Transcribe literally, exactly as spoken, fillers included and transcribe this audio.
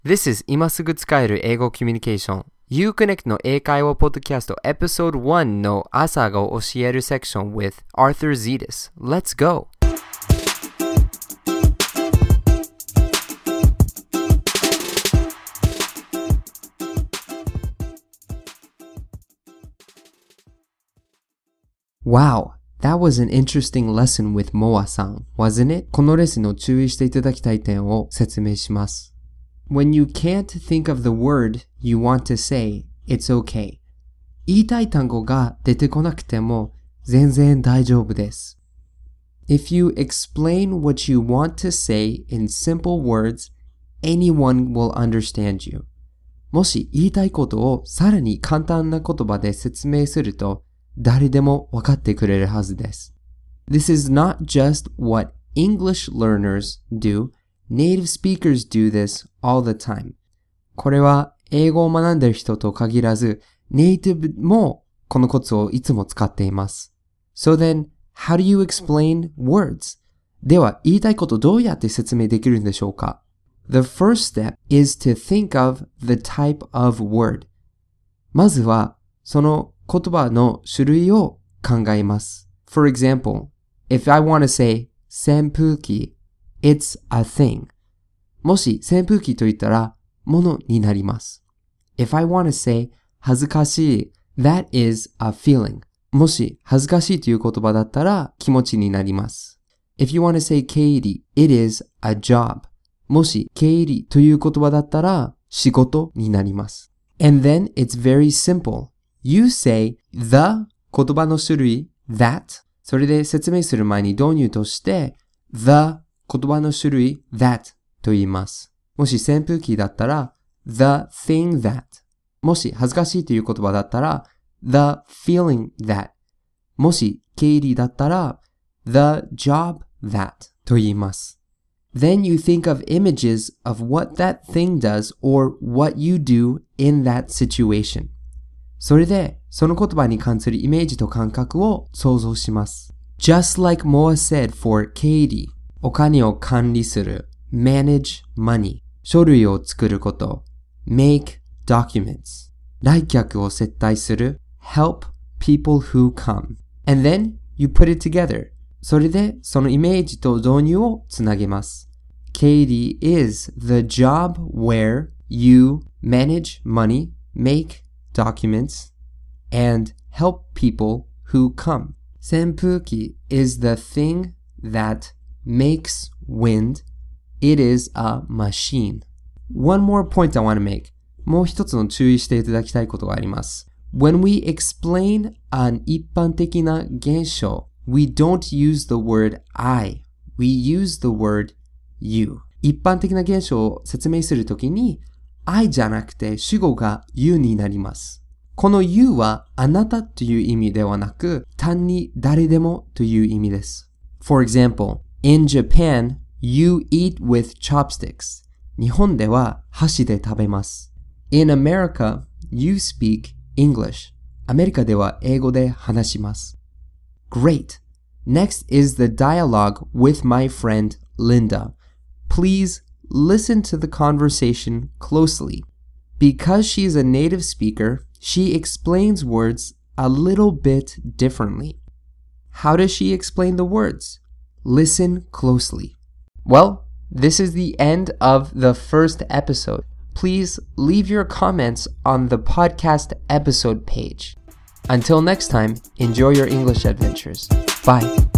This is 今すぐ使える英語コミュニケーション Uconnect の英会話ポッドキャスト Episode one の朝が教えるセクション with Arthur Zetas. Let's go! Wow, that was an interesting lesson with Moa-san, wasn't it? このレッスンの注意していただきたい点を説明します。When you can't think of the word you want to say, it's okay. 言いたい単語が出てこなくても全然大丈夫です。If you explain what you want to say in simple words, anyone will understand you. もし言いたいことをさらに簡単な言葉で説明すると誰でも分かってくれるはずです。This is not just what English learners do. Native speakers do this all the time. これは英語を学んでいる人と限らず、ネイティブもこのコツをいつも使っています。So then, how do you explain words? では、言いたいことどうやって説明できるんでしょうか？ The first step is to think of the type of word. まずは、その言葉の種類を考えます。For example, if I want to say 扇風機 It's a thing. もし扇風機と言ったらものになります。If I want to say 恥ずかしい That is a feeling. もし恥ずかしいという言葉だったら気持ちになります。If you want to say 経理 It is a job. もし経理という言葉だったら仕事になります。And then it's very simple. You say the 言葉の種類 that それで説明する前に導入として the 言葉の種類 that と言います。もし扇風機だったら the thing that もし恥ずかしいという言葉だったら the feeling that もし経理だったら the job that と言います。Then you think of images of what that thing does or what you do in that situation. それで、その言葉に関するイメージと感覚を想像します。Just like Moa said for Katie, お金を管理する manage money, 書類を作ること make documents, 来客を接待する help people who come. And then you put it together. それで、そのイメージと導入をつなげます。Katie is the job where you manage money, make documents, and help people who come. 扇風機 is the thing that makes wind. It is a machine. One more point I want to make. もう一つの注意していただきたいことがあります。When we explain an 一般的な現象, we don't use the word I. We use the word you. 一般的な現象を説明するときにI じゃなくて主語が you になります。この you はあなたという意味ではなく、単に誰でもという意味です。For example, in Japan, you eat with chopsticks. 日本では箸で食べます。In America, you speak English. アメリカでは英語で話します。Great! Next is the dialogue with my friend Linda. Please listen to the conversation closely. Because she is a native speaker, she explains words a little bit differently. How does she explain the words? Listen closely. Well, this is the end of the first episode. Please leave your comments on the podcast episode page. Until next time, enjoy your English adventures. Bye.